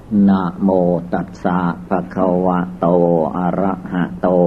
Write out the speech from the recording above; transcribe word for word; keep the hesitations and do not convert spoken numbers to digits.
นะโมตัสสะภะคะวะโตอะระหะโต